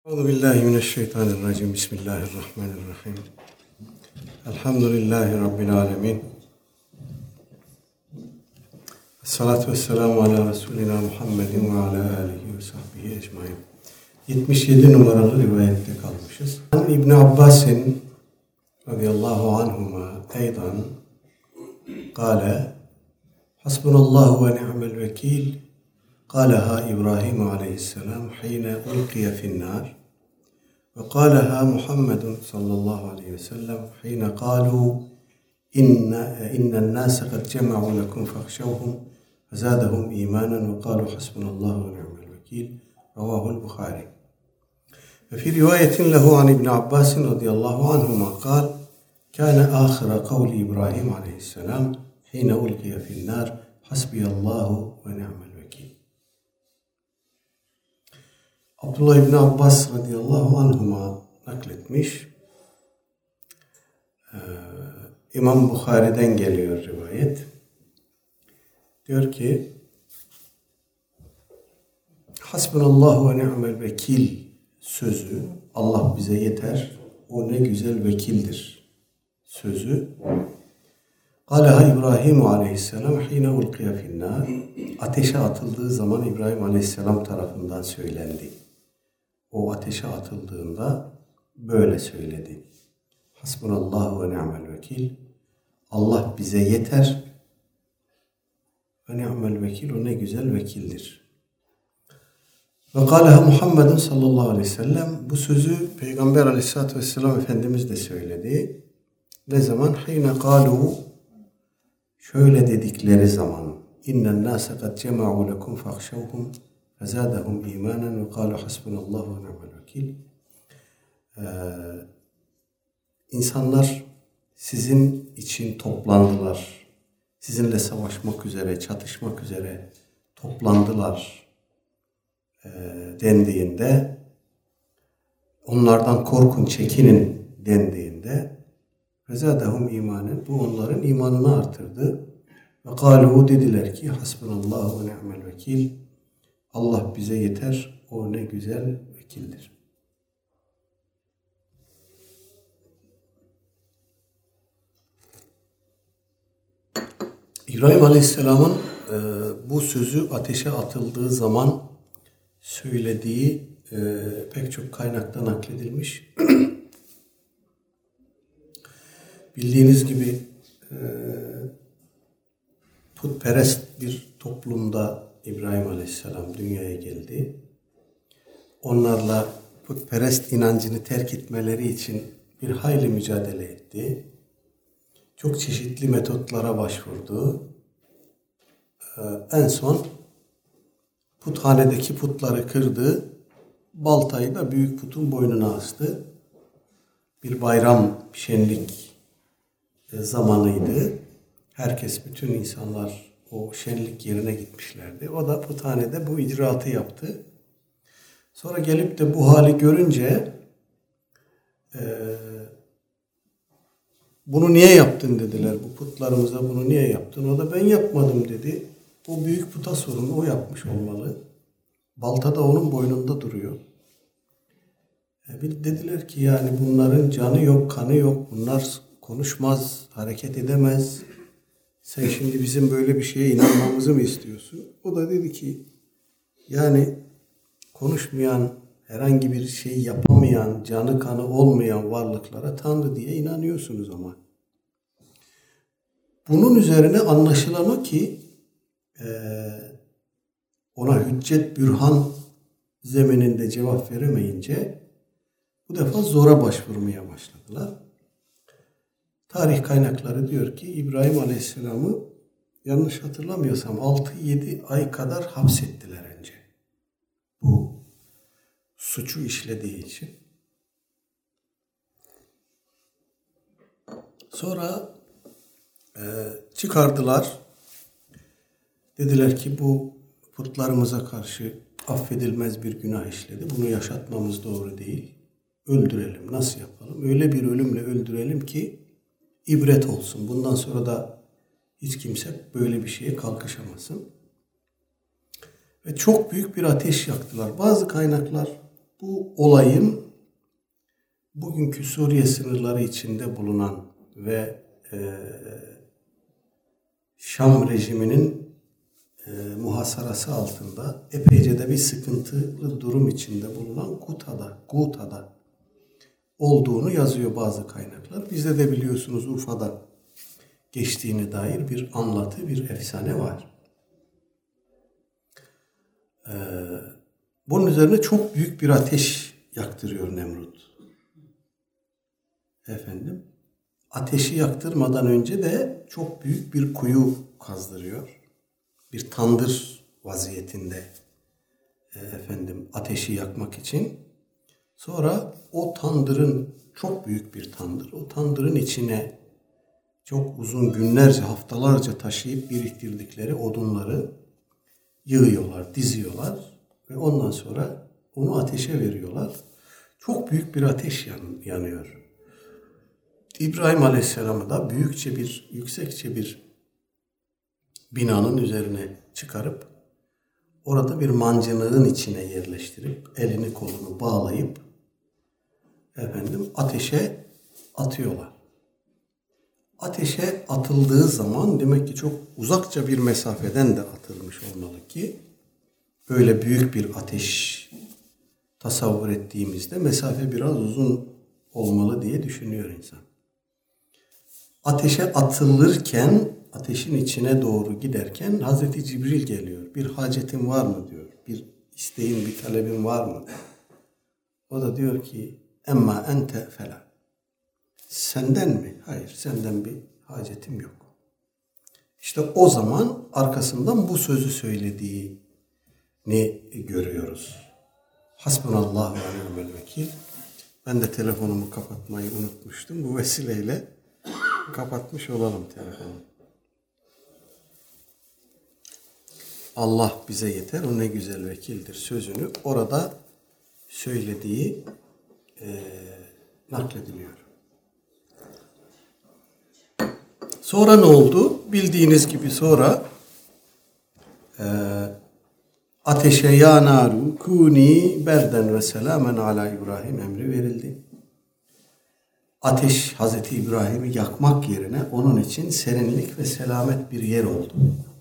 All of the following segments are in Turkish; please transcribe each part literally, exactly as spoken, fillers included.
Euzubillahimineşşeytanirracim. Bismillahirrahmanirrahim. Elhamdülillahi Rabbil alemin. Esselatu vesselamu ala Resulina Muhammedin ve ala alihi ve sahbihi ecmaîn. yetmiş yedi numaralı rivayette kalmışız. İbn Abbas'in radıyallahu anhuma eydan kâle hasbunallahu ve ni'mel vekil قالها إبراهيم عليه السلام حين ألقي في النار وقالها محمد صلى الله عليه وسلم حين قالوا إن إن الناس قد جمعوا لكم فاخشوهم فزادهم إيمانا وقالوا حسبنا الله ونعم الوكيل رواه البخاري. وفي رواية له عن ابن عباس رضي الله عنهما قال كان آخر قول إبراهيم عليه السلام حين ألقي في النار حسبي الله ونعم الوكيل. Abdullah İbni Abbas radıyallahu anhuma nakletmiş. Ee, İmam Bukhari'den geliyor rivayet. Diyor ki Hasbunallahu ve ni'mel vekil sözü, Allah bize yeter, o ne güzel vekildir sözü. Kâleha İbrahim aleyhisselam hîne ulkiye finnâr. Ateşe atıldığı zaman İbrahim aleyhisselam tarafından söylendi. O ateşe atıldığında böyle söyledi. Hasbunallahu ve ni'mel vekil. Allah bize yeter. Ve ni'mel vekil, o ne güzel vekildir. Ve kâleha Muhammedun sallallahu aleyhi ve sellem. Bu sözü Peygamber aleyhissalatü vesselam Efendimiz de söyledi. Ne zaman? Hîne kâlu, şöyle dedikleri zaman. İnnen nâse kad cema'u lekum fahşevhum فَزَادَهُمْ اِيمَانًا وَقَالُوا حَسْبُنَ اللّٰهُ وَنِعْمَ الْوَكِيلِ. İnsanlar sizin için toplandılar. Sizinle savaşmak üzere, çatışmak üzere toplandılar e, dendiğinde, onlardan korkun, çekinin dendiğinde فَزَادَهُمْ اِيمَانًا, bu onların imanını artırdı. وَقَالُوا, dediler ki حَسْبُنَ اللّٰهُ وَنِعْمَ الْوَكِيلِ. Allah bize yeter, o ne güzel vekildir. İbrahim Aleyhisselam'ın e, bu sözü ateşe atıldığı zaman söylediği e, pek çok kaynakta nakledilmiş. Bildiğiniz gibi e, putperest bir toplumda İbrahim Aleyhisselam dünyaya geldi. Onlarla putperest inancını terk etmeleri için bir hayli mücadele etti. Çok çeşitli metotlara başvurdu. Ee, en son puthanedeki putları kırdı. Baltayı da büyük putun boynuna astı. Bir bayram, şenlik zamanıydı. Herkes, bütün insanlar o şenlik yerine gitmişlerdi. O da puthanede bu icraatı yaptı. Sonra gelip de bu hali görünce e, bunu niye yaptın dediler. Bu putlarımıza bunu niye yaptın? O da ben yapmadım dedi. O büyük puta sorun, o yapmış olmalı. Balta da onun boynunda duruyor. E, dediler ki yani bunların canı yok, kanı yok. Bunlar konuşmaz, hareket edemez. Sen şimdi bizim böyle bir şeye inanmamızı mı istiyorsun? O da dedi ki yani konuşmayan, herhangi bir şey yapamayan, canı kanı olmayan varlıklara Tanrı diye inanıyorsunuz ama. Bunun üzerine anlaşılan o ki e, ona hüccet bürhan zemininde cevap veremeyince bu defa zora başvurmaya başladılar. Tarih kaynakları diyor ki İbrahim Aleyhisselam'ı yanlış hatırlamıyorsam altı yedi ay kadar hapsettiler önce. Bu suçu işlediği için. Sonra e, çıkardılar. Dediler ki bu putlarımıza karşı affedilmez bir günah işledi. Bunu yaşatmamız doğru değil. Öldürelim. Nasıl yapalım? Öyle bir ölümle öldürelim ki İbret olsun. Bundan sonra da hiç kimse böyle bir şeye kalkışamasın. Ve çok büyük bir ateş yaktılar. Bazı kaynaklar bu olayın bugünkü Suriye sınırları içinde bulunan ve e, Şam rejiminin e, muhasarası altında epeyce de bir sıkıntılı durum içinde bulunan Guta'da, Guta'da olduğunu yazıyor bazı kaynaklar. Bizde de biliyorsunuz Urfa'da geçtiğine dair bir anlatı, bir efsane var. Ee, bunun üzerine çok büyük bir ateş yaktırıyor Nemrut. Efendim, ateşi yaktırmadan önce de çok büyük bir kuyu kazdırıyor. Bir tandır vaziyetinde e, efendim ateşi yakmak için. Sonra o tandırın, çok büyük bir tandır, o tandırın içine çok uzun günlerce, haftalarca taşıyıp biriktirdikleri odunları yığıyorlar, diziyorlar ve ondan sonra onu ateşe veriyorlar. Çok büyük bir ateş yan, yanıyor. İbrahim Aleyhisselam'ı da büyükçe bir, yüksekçe bir binanın üzerine çıkarıp orada bir mancınığın içine yerleştirip elini kolunu bağlayıp efendim ateşe atıyorlar. Ateşe atıldığı zaman demek ki çok uzakça bir mesafeden de atılmış olmalı ki öyle büyük bir ateş tasavvur ettiğimizde mesafe biraz uzun olmalı diye düşünüyor insan. Ateşe atılırken, ateşin içine doğru giderken Hazreti Cibril geliyor. Bir hacetin var mı diyor. Bir isteğin, bir talebin var mı? O da diyor ki emma ente fela. Senden mi? Hayır, senden bir hacetim yok. İşte o zaman arkasından bu sözü söylediğini görüyoruz. Hasbunallahu ve ni'mel vekil. Ben de telefonumu kapatmayı unutmuştum. Bu vesileyle kapatmış olalım telefonu. Allah bize yeter, o ne güzel vekildir sözünü orada söylediği e, naklediliyor. Sonra ne oldu? Bildiğiniz gibi sonra e, ateşe ya naru kuni berden ve selamen ala İbrahim emri verildi. Ateş Hazreti İbrahim'i yakmak yerine onun için serinlik ve selamet bir yer oldu.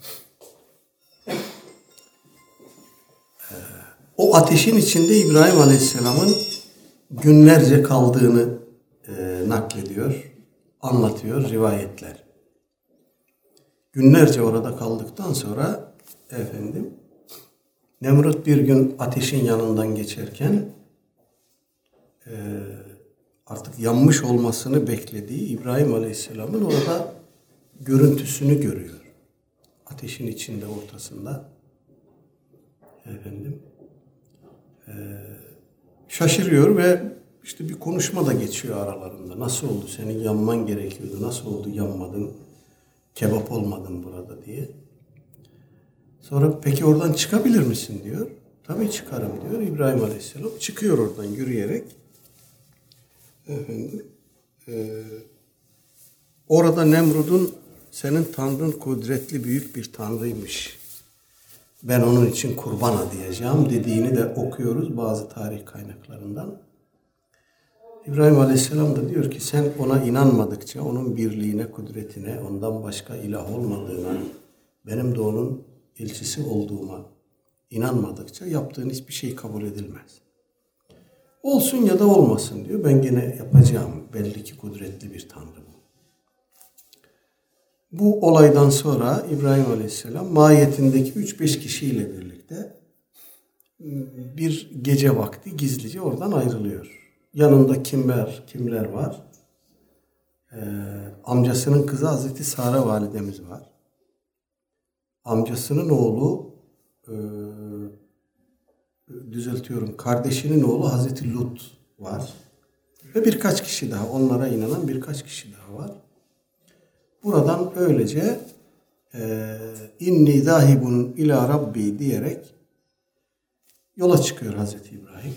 Ee, o ateşin içinde İbrahim Aleyhisselam'ın günlerce kaldığını e, naklediyor, anlatıyor rivayetler. Günlerce orada kaldıktan sonra efendim Nemrut bir gün ateşin yanından geçerken e, artık yanmış olmasını beklediği İbrahim Aleyhisselam'ın orada görüntüsünü görüyor. Ateşin içinde ortasında. Efendim. Ee, şaşırıyor ve işte bir konuşma da geçiyor aralarında. Nasıl oldu? Senin yanman gerekiyordu. Nasıl oldu? Yanmadın. Kebap olmadın burada diye. Sonra peki oradan çıkabilir misin diyor. Tabii çıkarım diyor. İbrahim Aleyhisselam çıkıyor oradan yürüyerek. Efendim, e, orada Nemrud'un senin tanrın kudretli büyük bir tanrıymış. Ben onun için kurban adayacağım dediğini de okuyoruz bazı tarih kaynaklarından. İbrahim Aleyhisselam da diyor ki sen ona inanmadıkça onun birliğine, kudretine, ondan başka ilah olmadığına, benim de onun elçisi olduğuma inanmadıkça yaptığın hiçbir şey kabul edilmez. Olsun ya da olmasın diyor. Ben gene yapacağım. Belli ki kudretli bir tanrı bu. Bu olaydan sonra İbrahim Aleyhisselam mahiyetindeki üç beş kişiyle birlikte bir gece vakti gizlice oradan ayrılıyor. Yanında kimler kimler var? Ee, amcasının kızı Hazreti Sara validemiz var. Amcasının oğlu e, düzeltiyorum. Kardeşinin oğlu Hazreti Lut var. Ve birkaç kişi daha. Onlara inanan birkaç kişi daha var. Buradan öylece inni zahibun ila rabbi diyerek yola çıkıyor Hazreti İbrahim.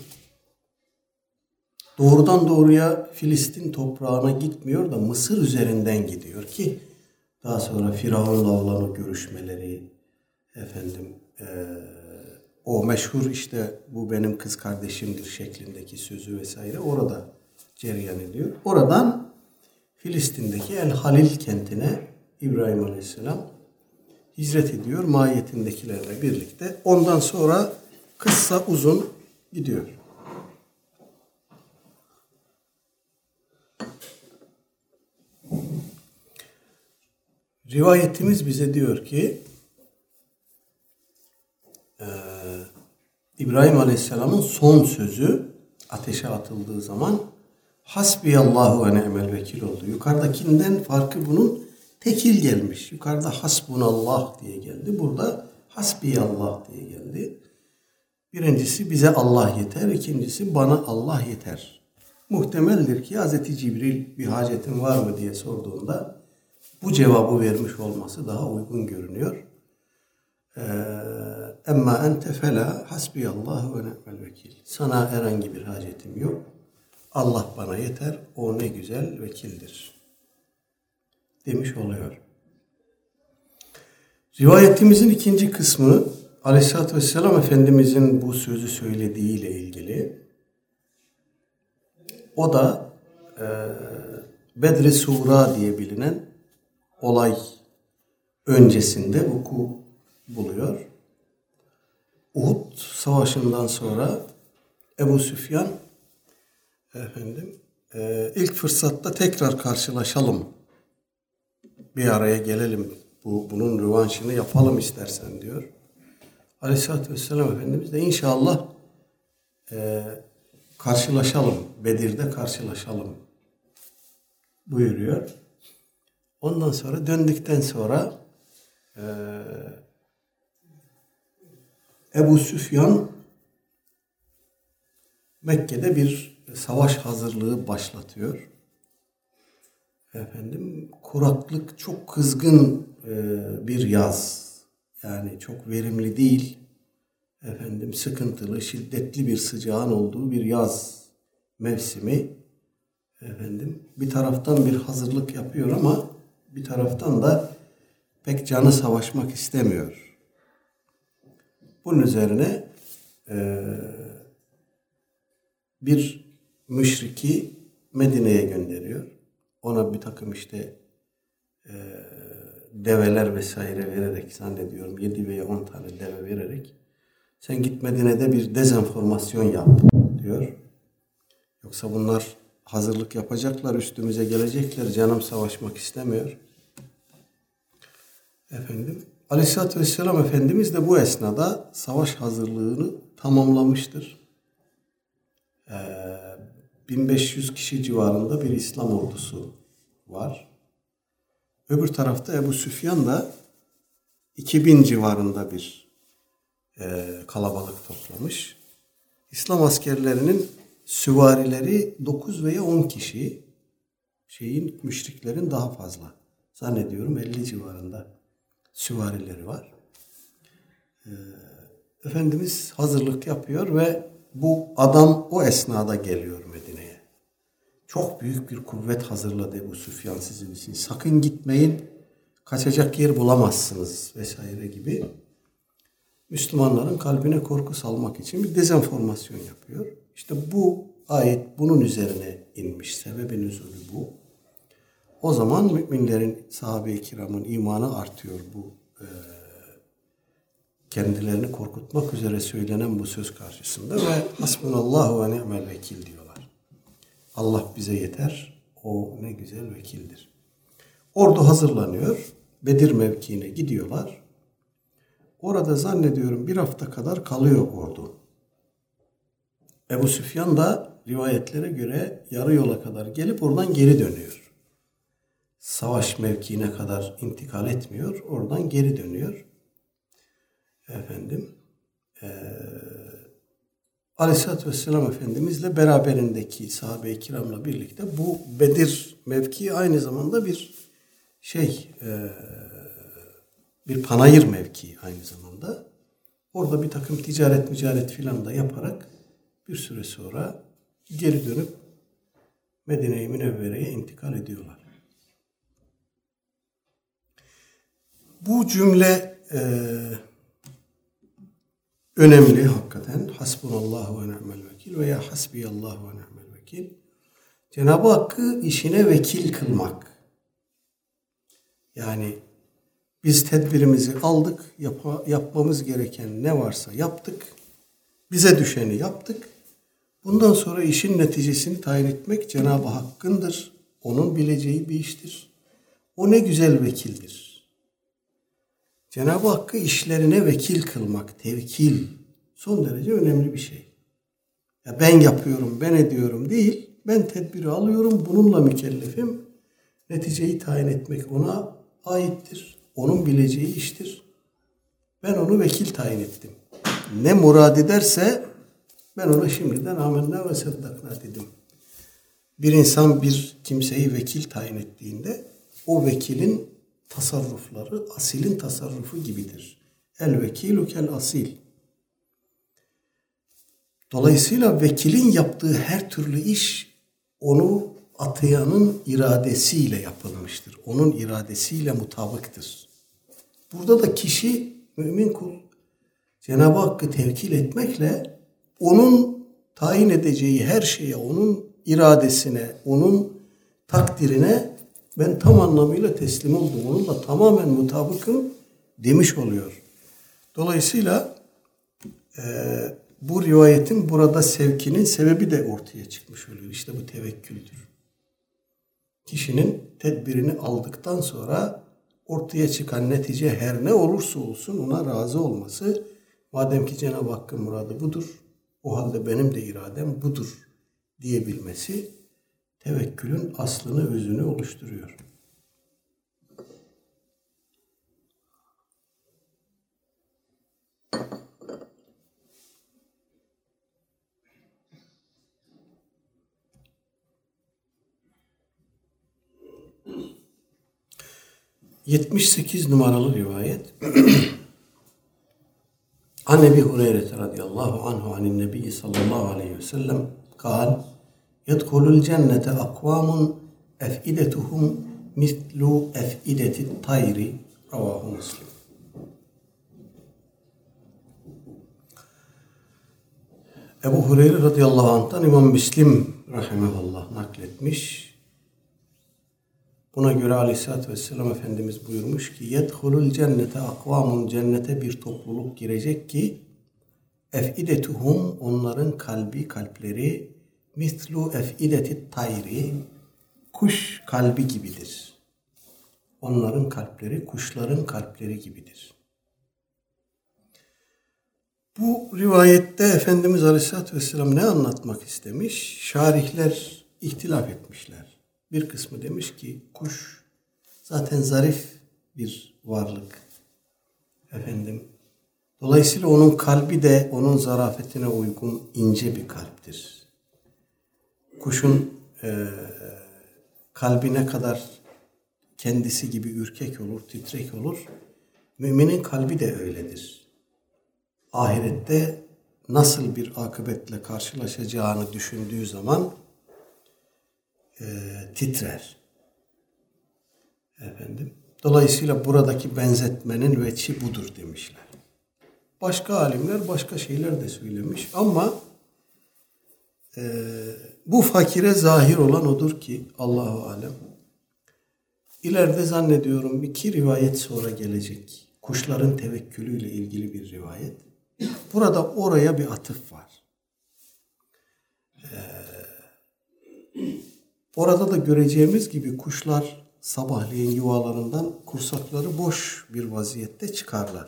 Doğrudan doğruya Filistin toprağına gitmiyor da Mısır üzerinden gidiyor ki daha sonra Firavun'la olan o görüşmeleri efendim e, o meşhur işte bu benim kız kardeşimdir şeklindeki sözü vesaire orada cereyan ediyor. Oradan Filistin'deki El Halil kentine İbrahim Aleyhisselam hicret ediyor mahiyetindekilerle birlikte. Ondan sonra kıssa uzun gidiyor. Rivayetimiz bize diyor ki e, İbrahim Aleyhisselam'ın son sözü ateşe atıldığı zaman Hasbiyallahu ve ni'mel vekil oldu. Yukarıdakinden farkı bunun tekil gelmiş. Yukarıda hasbunallah diye geldi. Burada hasbiyallah diye geldi. Birincisi bize Allah yeter. İkincisi bana Allah yeter. Muhtemeldir ki Hazreti Cibril bir hacetin var mı diye sorduğunda bu cevabı vermiş olması daha uygun görünüyor. Emma ente fela hasbiyallahu ve ni'mel vekil. Sana herhangi bir hacetim yok. Allah bana yeter. O ne güzel vekildir demiş oluyor. Rivayetimizin ikinci kısmı Aleyhisselatü Vesselam Efendimizin bu sözü söylediğiyle ilgili. O da e, Bedr-i Suğra diye bilinen olay öncesinde vuku buluyor. Uhud Savaşı'ndan sonra Ebu Süfyan efendim e, ilk fırsatta tekrar karşılaşalım. Bir araya gelelim. Bu, bunun rövanşını yapalım istersen diyor. Aleyhisselatü Vesselam Efendimiz de inşallah e, karşılaşalım. Bedir'de karşılaşalım buyuruyor. Ondan sonra döndükten sonra e, Ebu Süfyan Mekke'de bir savaş hazırlığı başlatıyor. Efendim kuraklık çok kızgın e, bir yaz. Yani çok verimli değil. Efendim sıkıntılı, şiddetli bir sıcağın olduğu bir yaz mevsimi. Efendim bir taraftan bir hazırlık yapıyor ama bir taraftan da pek canı savaşmak istemiyor. Bunun üzerine e, bir müşriki Medine'ye gönderiyor. Ona bir takım işte e, develer vesaire vererek zannediyorum yedi veya on tane deve vererek sen git Medine'de bir dezenformasyon yap diyor. Yoksa bunlar hazırlık yapacaklar, üstümüze gelecekler, canım savaşmak istemiyor. Efendim Aleyhisselatü Vesselam Efendimiz de bu esnada savaş hazırlığını tamamlamıştır. Ee, bin beş yüz kişi civarında bir İslam ordusu var. Öbür tarafta Ebu Süfyan da iki bin civarında bir e, kalabalık toplamış. İslam askerlerinin süvarileri dokuz veya on kişi, şeyin müşriklerin daha fazla. Zannediyorum elli civarında süvarileri var. Ee, Efendimiz hazırlık yapıyor ve bu adam o esnada geliyor Medine'ye. Çok büyük bir kuvvet hazırladı Ebu Süfyan sizin için. Sakın gitmeyin, kaçacak yer bulamazsınız vesaire gibi. Müslümanların kalbine korku salmak için bir dezenformasyon yapıyor. İşte bu ayet bunun üzerine inmiş. Sebebi nüzulü bu. O zaman müminlerin, sahabe-i kiramın imanı artıyor bu e, kendilerini korkutmak üzere söylenen bu söz karşısında ve hasbunallahu ve ni'mel vekil diyorlar. Allah bize yeter, o ne güzel vekildir. Ordu hazırlanıyor, Bedir mevkiine gidiyorlar. Orada zannediyorum bir hafta kadar kalıyor ordu. Ebu Süfyan da rivayetlere göre yarı yola kadar gelip oradan geri dönüyor. Savaş mevkiine kadar intikal etmiyor, oradan geri dönüyor. Efendim, e, Aleyhisselatü Vesselam Efendimizle beraberindeki sahabe-i kiramla birlikte bu Bedir mevkii aynı zamanda bir şey, e, bir panayır mevkii aynı zamanda. Orada bir takım ticaret mücaret filan da yaparak bir süre sonra geri dönüp Medine-i Münevvere'ye intikal ediyorlar. Bu cümle e, önemli hakikaten. Hasbunallahu ve ni'mel vekil veya hasbiyallahu ve ni'mel vekil. Cenab-ı Hakk'ı işine vekil kılmak. Yani biz tedbirimizi aldık, yap- yapmamız gereken ne varsa yaptık, bize düşeni yaptık. Bundan sonra işin neticesini tayin etmek Cenab-ı Hakk'ındır. Onun bileceği bir iştir. O ne güzel vekildir. Cenab-ı Hakk'ı işlerine vekil kılmak, tevkil son derece önemli bir şey. Ya ben yapıyorum, ben ediyorum değil, ben tedbiri alıyorum, bununla mükellefim. Neticeyi tayin etmek ona aittir. Onun bileceği iştir. Ben onu vekil tayin ettim. Ne murad ederse ben ona şimdiden amenna ve seddakna dedim. Bir insan bir kimseyi vekil tayin ettiğinde o vekilin tasarrufları asilin tasarrufu gibidir. El vekilu kel asil. Dolayısıyla vekilin yaptığı her türlü iş onu atayanın iradesiyle yapılmıştır. Onun iradesiyle mutabıktır. Burada da kişi mümin kul Cenab-ı Hakk'ı tevkil etmekle onun tayin edeceği her şeye, onun iradesine, onun takdirine ben tam anlamıyla teslim oldum. Onunla tamamen mutabıkım demiş oluyor. Dolayısıyla e, bu rivayetin burada sevkinin sebebi de ortaya çıkmış oluyor. İşte bu tevekküldür. Kişinin tedbirini aldıktan sonra ortaya çıkan netice her ne olursa olsun ona razı olması, madem ki Cenab-ı Hakk'ın muradı budur, o halde benim de iradem budur diyebilmesi tevekkülün aslını, özünü oluşturuyor. yetmiş sekiz numaralı rivayet. An Ebi Hureyre radıyallahu anhu anin Nebi sallallahu aleyhi ve sellem kal yedhulul cennete akvamun efidetuhum mislu efideti tayri ravahu Müslim. Ebu Hureyre radıyallahu anh'tan İmam Müslim rahimehullah nakletmiş. Buna göre aleyhissalatü vesselam Efendimiz buyurmuş ki yedhulul cennete akvamun, cennete bir topluluk girecek ki efidetuhum, onların kalbi, kalpleri mislu efideti tayri, kuş kalbi gibidir. Onların kalpleri kuşların kalpleri gibidir. Bu rivayette Efendimiz Aleyhisselatü Vesselam ne anlatmak istemiş? Şarihler ihtilaf etmişler. Bir kısmı demiş ki kuş zaten zarif bir varlık. Efendim, dolayısıyla onun kalbi de onun zarafetine uygun ince bir kalptir. Kuşun e, kalbi ne kadar kendisi gibi ürkek olur, titrek olur, müminin kalbi de öyledir. Ahirette nasıl bir akıbetle karşılaşacağını düşündüğü zaman e, titrer. Efendim. Dolayısıyla buradaki benzetmenin veçi budur demişler. Başka alimler başka şeyler de söylemiş ama e, bu fakire zahir olan odur ki Allahu alem. İleride zannediyorum iki rivayet sonra gelecek. Kuşların tevekkülüyle ilgili bir rivayet. Burada oraya bir atıf var. Ee, orada da göreceğimiz gibi kuşlar sabahleyin yuvalarından kursakları boş bir vaziyette çıkarlar.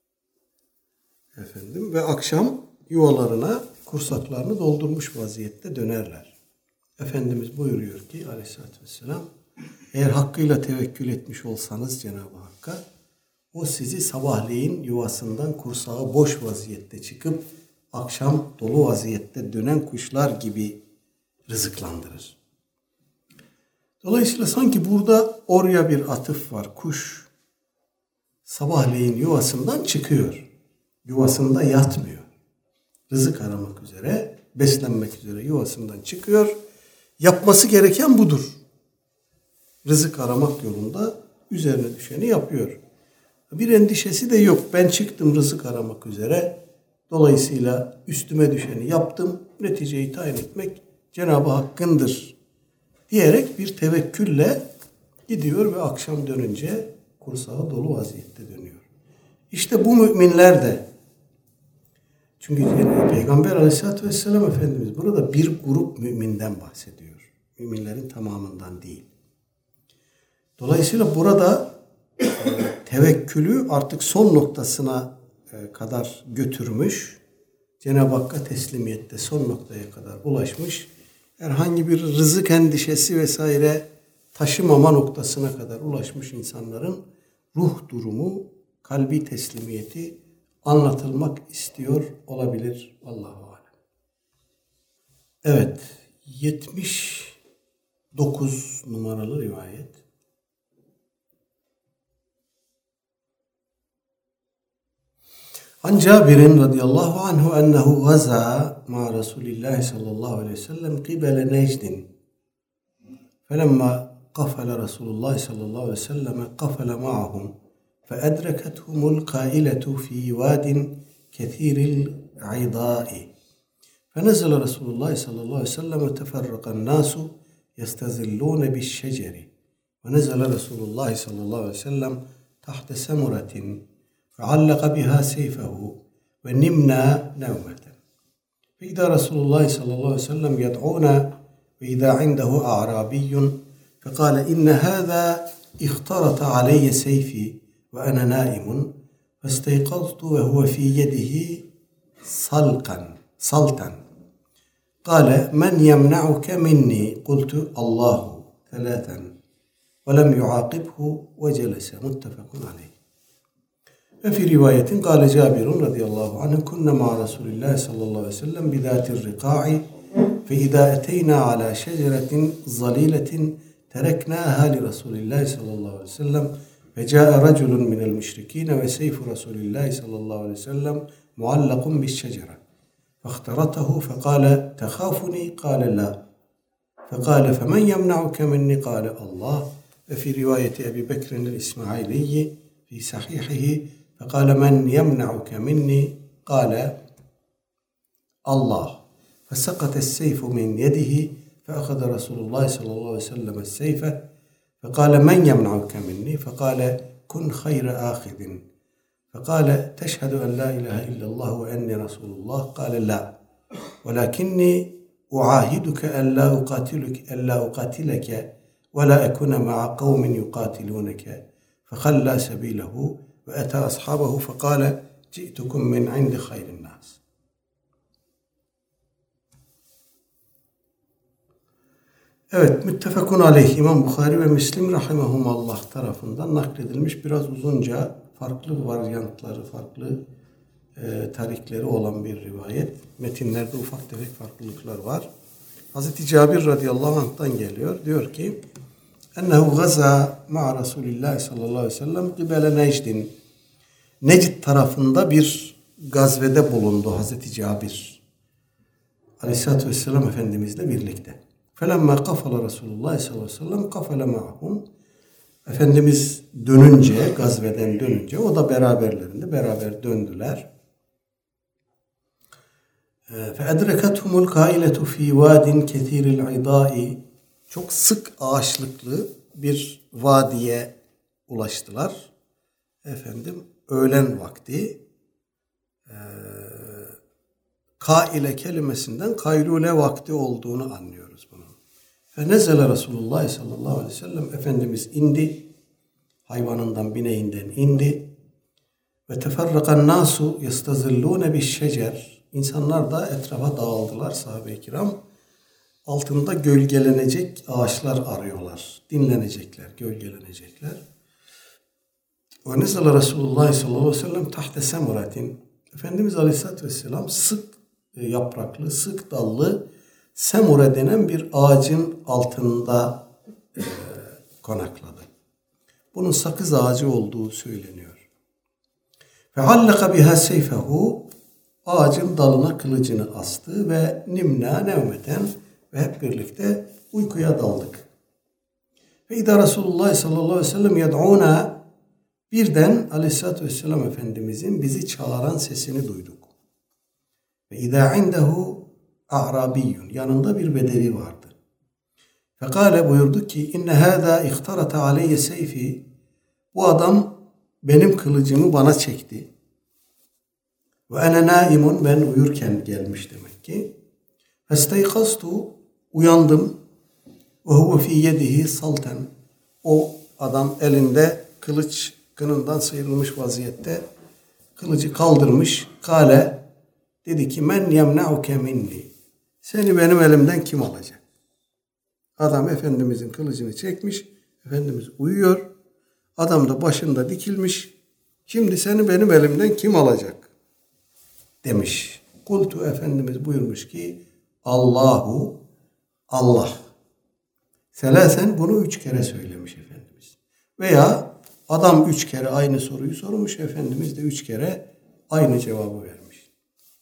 Efendim ve akşam yuvalarına kursaklarını doldurmuş vaziyette dönerler. Efendimiz buyuruyor ki Aleyhisselatü Vesselam, eğer hakkıyla tevekkül etmiş olsanız Cenab-ı Hakk'a, o sizi sabahleyin yuvasından kursağı boş vaziyette çıkıp akşam dolu vaziyette dönen kuşlar gibi rızıklandırır. Dolayısıyla sanki burada oraya bir atıf var. Kuş sabahleyin yuvasından çıkıyor. Yuvasında yatmıyor. Rızık aramak üzere, beslenmek üzere yuvasından çıkıyor. Yapması gereken budur. Rızık aramak yolunda üzerine düşeni yapıyor. Bir endişesi de yok. Ben çıktım rızık aramak üzere. Dolayısıyla üstüme düşeni yaptım. Neticeyi tayin etmek Cenab-ı Hakk'ındır diyerek bir tevekkülle gidiyor ve akşam dönünce kursağı dolu vaziyette dönüyor. İşte bu müminler de, çünkü Peygamber Aleyhisselatü Vesselam Efendimiz burada bir grup müminden bahsediyor. Müminlerin tamamından değil. Dolayısıyla burada e, tevekkülü artık son noktasına e, kadar götürmüş, Cenab-ı Hakk'a teslimiyette son noktaya kadar ulaşmış, herhangi bir rızık endişesi vesaire taşımama noktasına kadar ulaşmış insanların ruh durumu, kalbi teslimiyeti anlatılmak istiyor olabilir. Allahu alem. Evet, yetmiş dokuz numaralı rivayet. An Cabir'in radıyallahu anhu ennehu gaza ma Resulillah sallallahu aleyhi ve sellem qibele Necdin. Felemma qafala Resulullah sallallahu aleyhi ve sellem qafala ma'ahum فأدركتهم القائلة في واد كثير العضاء فنزل رسول الله صلى الله عليه وسلم وتفرق الناس يستظلون بالشجر ونزل رسول الله صلى الله عليه وسلم تحت سمرة فعلق بها سيفه ونمنا نومة فإذا رسول الله صلى الله عليه وسلم يدعونا وإذا عنده أعرابي فقال إن هذا اخترط علي سيفي وأنا نائم فاستيقظت وهو في يده صلقا صلتا قال من يمنعك مني قلت الله ثلاثا ولم يعاقبه وجلس متفق عليه. وفي رواية قال جابر رضي الله عنه كنا مع رسول الله صلى الله عليه وسلم بذات الرقاع فإذا أتينا على شجرة ظليلة تركناها لرسول الله صلى الله عليه وسلم فجاء رجل من المشركين وسيف رسول الله صلى الله عليه وسلم معلق بالشجرة فاخترته فقال تخافني قال لا فقال فمن يمنعك مني قال الله. وفي رواية أبي بكر الإسماعيلي في صحيحه فقال من يمنعك مني قال الله فسقط السيف من يده فأخذ رسول الله صلى الله عليه وسلم السيف فقال من يمنعك مني فقال كن خير آخذ فقال تشهد أن لا إله إلا الله وأني رسول الله قال لا ولكني أعاهدك ألا أقاتلك ألا أقاتلك ولا أكون مع قوم يقاتلونك فخلى سبيله وأتى أصحابه فقال جئتكم من عند خير الناس. Evet, müttefekun aleyh İmam Bukhari ve Müslim rahimehumallah tarafından nakledilmiş biraz uzunca farklı varyantları, farklı e, tarikleri olan bir rivayet. Metinlerde ufak tefek farklılıklar var. Hazreti Cabir radıyallahu anh'tan geliyor. Diyor ki ennehu gaza ma'a Resulillah sallallahu aleyhi ve sellem qibele Necdin. Necd tarafında bir gazvede bulundu Hazreti Cabir aleyhissalatü vesselam Efendimizle birlikte. فَلَمَّا قَفَلَ رَسُولُ اللّٰهِ sallallahu aleyhi ve sellem قَفَلَ مَعَهُمْ. Efendimiz dönünce, gazveden dönünce o da beraberlerinde beraber döndüler. فَاَدْرَكَتْهُمُ الْقَائِلَةُ ف۪ي وَادٍ كَثِيرِ الْعِضَاءِ. Çok sık ağaçlıklı bir vadiye ulaştılar. Efendim öğlen vakti e, kaile kelimesinden kaylule vakti olduğunu anlıyoruz bunu. Fenezele Resulullah sallallahu aleyhi ve sellem Efendimiz indi. Hayvanından, bineğinden indi. Ve teferrakan nasu yestazillune bi'şecer. İnsanlar da etrafa dağıldılar sahabe-i kiram. Altında gölgelenecek ağaçlar arıyorlar. Dinlenecekler, gölgelenecekler. Ve nezele Resulullah sallallahu aleyhi ve sellem tahte semuratin. Efendimiz aleyhissalatü vesselam sık yapraklı, sık dallı semure denen bir ağacın altında e, konakladı. Bunun sakız ağacı olduğu söyleniyor. Ve hallaka biha seyfehu. Ağacın dalına kılıcını astı ve nimna nevmeten ve hep birlikte uykuya daldık. Ve idâ Resulullah sallallahu aleyhi ve sellem yed'ûnâ. Birden aleyhissalatü vesselam Efendimizin bizi çağıran sesini duyduk. Ve izâ indehu a'rabiyyun. Yanında bir bedevi vardı. Fekale buyurdu ki inne hâzâ ihtarata aleyye seyfi. Bu adam benim kılıcımı bana çekti. Ve ene naimun. Ben uyurken gelmiş demek ki. Festeykaztu. Uyandım. Ve huve fî yedihi salten. O adam elinde kılıç kınından sıyrılmış vaziyette kılıcı kaldırmış. Kale dedi ki men yemna'uke minni. Seni benim elimden kim alacak? Adam Efendimizin kılıcını çekmiş. Efendimiz uyuyor. Adam da başında dikilmiş. Şimdi seni benim elimden kim alacak? Demiş. Kultu Efendimiz buyurmuş ki Allahu Allah. Selasen bunu üç kere söylemiş Efendimiz. Veya adam üç kere aynı soruyu sormuş. Efendimiz de üç kere aynı cevabı vermiş.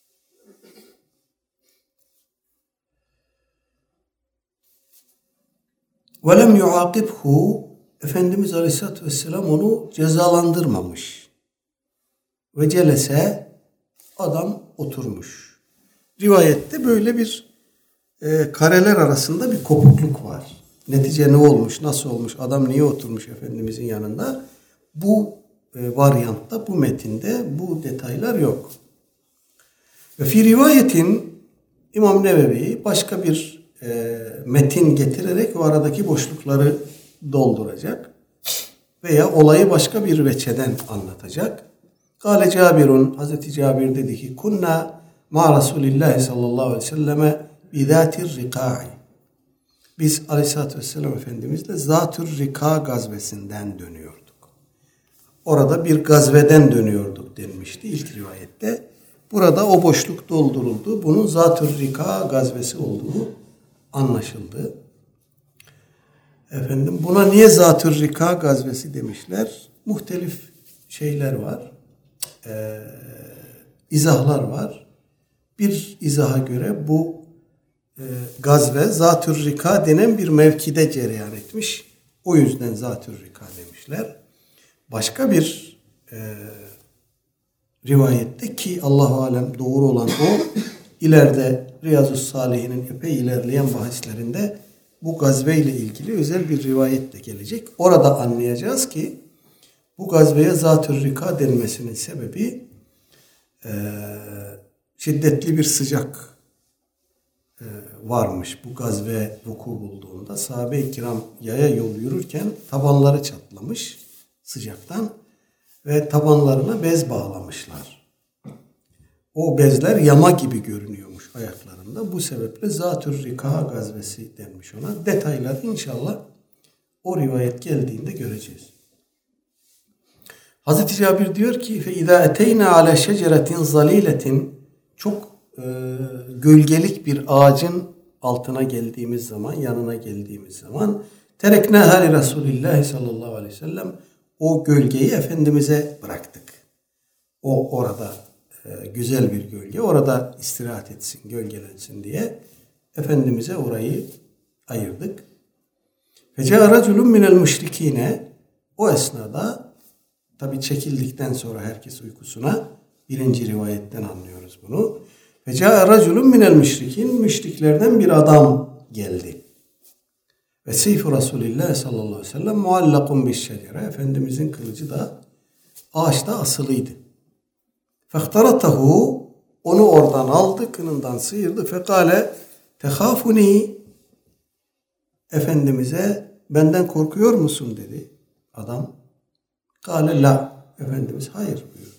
وَلَمْ يُعَاقِبْهُ. Efendimiz Aleyhisselatü Vesselam onu cezalandırmamış. Ve celese, adam oturmuş. Rivayette böyle bir e, kareler arasında bir kopukluk var. Netice ne olmuş, nasıl olmuş, adam niye oturmuş Efendimizin yanında? Bu e, varyantta, bu metinde bu detaylar yok. Ve fi rivayetin İmam Nevevi başka bir e, metin getirerek o aradaki boşlukları dolduracak. Veya olayı başka bir veçeden anlatacak. Kale Cabirun, Hazreti Cabir dedi ki kunna ma Resulillahi sallallahu aleyhi ve selleme bizatir rika'i. Biz Aleyhisselatü Vesselam Efendimizle Zatür Rika gazvesinden dönüyorduk. Orada bir gazveden dönüyorduk denmişti ilk rivayette. Burada o boşluk dolduruldu. Bunun Zatür Rika gazvesi olduğu anlaşıldı. Efendim buna niye Zatür Rika gazvesi demişler? Muhtelif şeyler var. Ee, izahlar var. Bir izaha göre bu e, gazve Zatür Rika denen bir mevkide cereyan etmiş. O yüzden Zatür Rika demişler. Başka bir e, rivayette ki Allah-u Alem doğru olan o, ileride Riyazu Salihin'in epey ilerleyen bahislerinde bu gazve ile ilgili özel bir rivayet de gelecek. Orada anlayacağız ki bu gazveye Zatür Rika denmesinin sebebi e, şiddetli bir sıcak e, varmış. Bu gazve vuku bulduğunda sahabe-i kiram yaya yol yürürken tabanları çatlamış sıcaktan ve tabanlarına bez bağlamışlar. O bezler yama gibi görünüyormuş ayaklarında. Bu sebeple Zatür Rika gazvesi denmiş ona. Detaylar inşallah o rivayet geldiğinde göreceğiz. Hazreti Cabir diyor ki فَاِذَا اَتَيْنَا عَلَى شَجَرَةٍ زَلِيلَةٍ çok e, gölgelik bir ağacın altına geldiğimiz zaman, yanına geldiğimiz zaman tereknâhâ li Resulillahi sallallahu aleyhi ve sellem o gölgeyi Efendimiz'e bıraktık. O orada e, güzel bir gölge. Orada istirahat etsin, gölgelensin diye Efendimiz'e orayı ayırdık. فَجَاءَ رَجُلٌ مِنَ الْمُشْرِك۪ينَ o esnada tabi çekildikten sonra herkes uykusuna birinci rivayetten anlıyoruz bunu. فَجَاءَ رَجُلٌ مِنَ الْمُشْرِك۪ينَ müşriklerden bir adam geldi. Ve seyf-i Resulillah sallallahu aleyhi ve sellem muallakun bişşecere. Efendimizin kılıcı da ağaçta asılıydı. Fehtaratahu onu oradan aldı, kınından sıyırdı. Fekale tehafuni Efendimiz'e benden korkuyor musun dedi adam. Kale la. Efendimiz hayır buyurdu.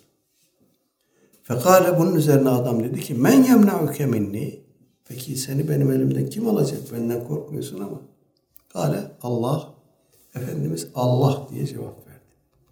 Fekale bunun üzerine adam dedi ki men yemna'uke minni. Peki seni benim elimden kim alacak? Benden korkmuyorsun ama. Kale Allah. Efendimiz Allah diye cevap verdi.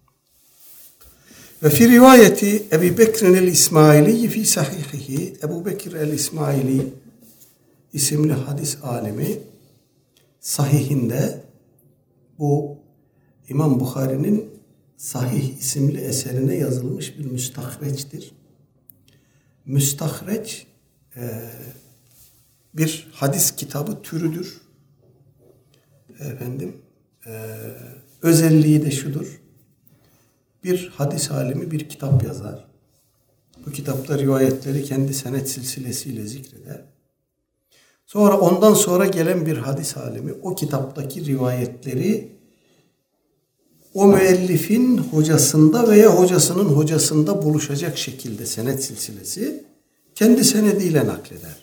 Ve fi rivayeti Ebu Bekir'in el-İsmaili fi sahihihi Ebu Bekir el-İsmaili isimli hadis alimi sahihinde bu İmam Bukhari'nin Sahih isimli eserine yazılmış bir müstahreçtir. Müstahreç e, bir hadis kitabı türüdür. Efendim e, özelliği de şudur. Bir hadis alimi bir kitap yazar. Bu kitapta rivayetleri kendi senet silsilesiyle zikreder. Sonra ondan sonra gelen bir hadis alimi o kitaptaki rivayetleri o müellifin hocasında veya hocasının hocasında buluşacak şekilde senet silsilesi kendi senediyle nakleder.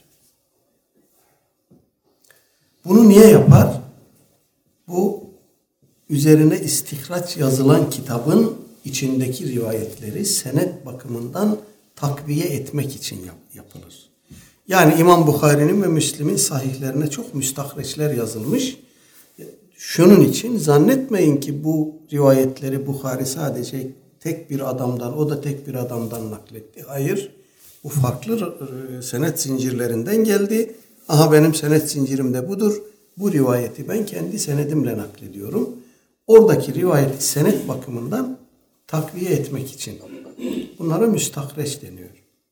Bunu niye yapar? Bu üzerine istihraç yazılan kitabın içindeki rivayetleri senet bakımından takviye etmek için yap, yapılır. Yani İmam Bukhari'nin ve Müslim'in sahihlerine çok müstahreçler yazılmış. Şunun için zannetmeyin ki bu rivayetleri Bukhari sadece tek bir adamdan, o da tek bir adamdan nakletti. Hayır, bu farklı senet zincirlerinden geldi. Aha benim senet zincirim de budur. Bu rivayeti ben kendi senedimle naklediyorum. Oradaki rivayeti senet bakımından takviye etmek için. Bunlara müstahreç deniyor.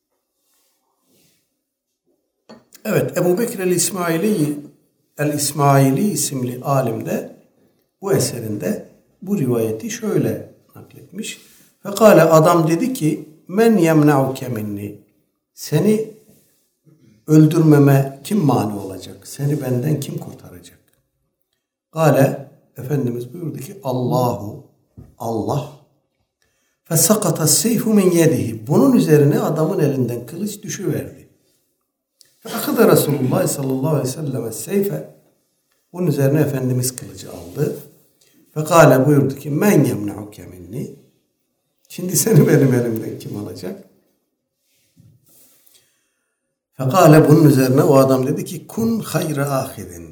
Evet, Ebu Bekir el-İsmaili el-İsmaili isimli alim de bu eserinde bu rivayeti şöyle nakletmiş. Fekale adam dedi ki men yemna'uke minni, seni öldürmeme kim mani olacak? Seni benden kim kurtaracak? Kale Efendimiz buyurdu ki Allahu, Allah. Fesakata seyfu min yedihi. Bunun üzerine adamın elinden kılıç düşüverdi. Fekada Resulullah sallallahu aleyhi ve sellem seyfe. Bunun üzerine Efendimiz kılıcı aldı. Fekale buyurdu ki men yemna'uke minni. Şimdi seni benim elimden kim alacak? Fekale bunun üzerine o adam dedi ki kun hayra ahidin.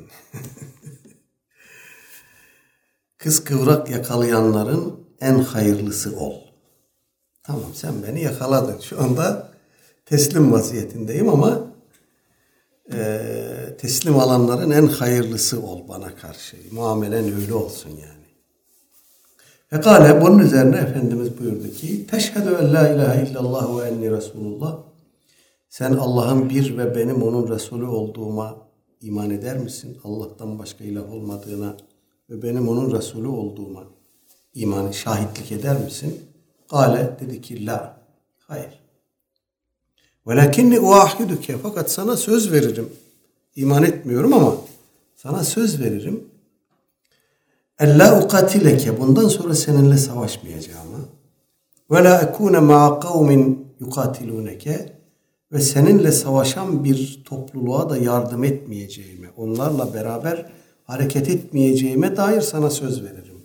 Kız kıvrak yakalayanların en hayırlısı ol. Tamam sen beni yakaladın. Şu anda teslim vaziyetindeyim ama e, teslim alanların en hayırlısı ol bana karşı. Muamelen öyle olsun yani. Fekale bunun üzerine Efendimiz buyurdu ki teşhedü en la ilahe illallah ve enni Resulullah. Sen Allah'ın bir ve benim onun Resulü olduğuma iman eder misin? Allah'tan başka ilah olmadığına ve benim onun Resulü olduğuma iman, şahitlik eder misin? Kale dedi ki la. Hayır. Velakinni uahiduke, fakat sana söz veririm. İman etmiyorum ama sana söz veririm. Ella ukatileke, bundan sonra seninle savaşmayacağıma. Ve la ekune ma'a kavmin yukatiluneke, ve seninle savaşan bir topluluğa da yardım etmeyeceğime, onlarla beraber hareket etmeyeceğime dair sana söz veririm.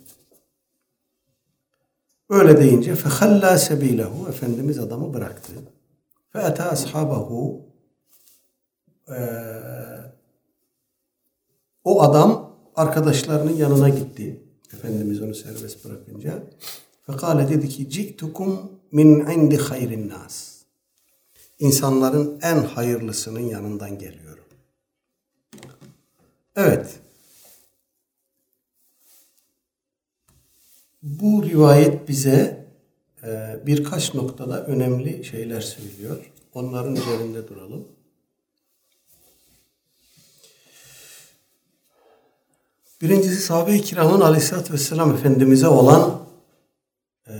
Öyle deyince fehalla sebilehu, Efendimiz adamı bıraktı. Fe'ata ashabahu, o adam arkadaşlarının yanına gitti. Efendimiz onu serbest bırakınca. Fekale dedi ki ci'tukum min indi hayrin nas. İnsanların en hayırlısının yanından geliyorum. Evet. Bu rivayet bize e, birkaç noktada önemli şeyler söylüyor. Onların üzerinde duralım. Birincisi sahabe-i kiramın aleyhissalatü vesselam Efendimiz'e olan e,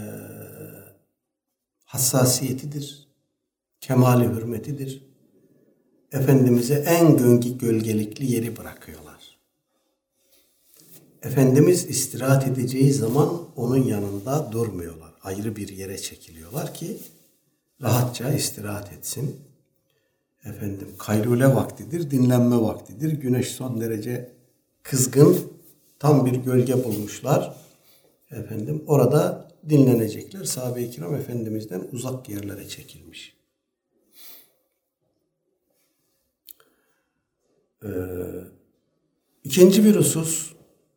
hassasiyetidir. Kemali hürmetidir. Efendimiz'e en gölgelikli yeri bırakıyorlar. Efendimiz istirahat edeceği zaman onun yanında durmuyorlar. Ayrı bir yere çekiliyorlar ki rahatça istirahat etsin. Efendim kaylule vaktidir, dinlenme vaktidir. Güneş son derece kızgın, tam bir gölge bulmuşlar. Efendim orada dinlenecekler. Sahabe-i kiram Efendimiz'den uzak yerlere çekilmiş. Ee, ikinci bir husus,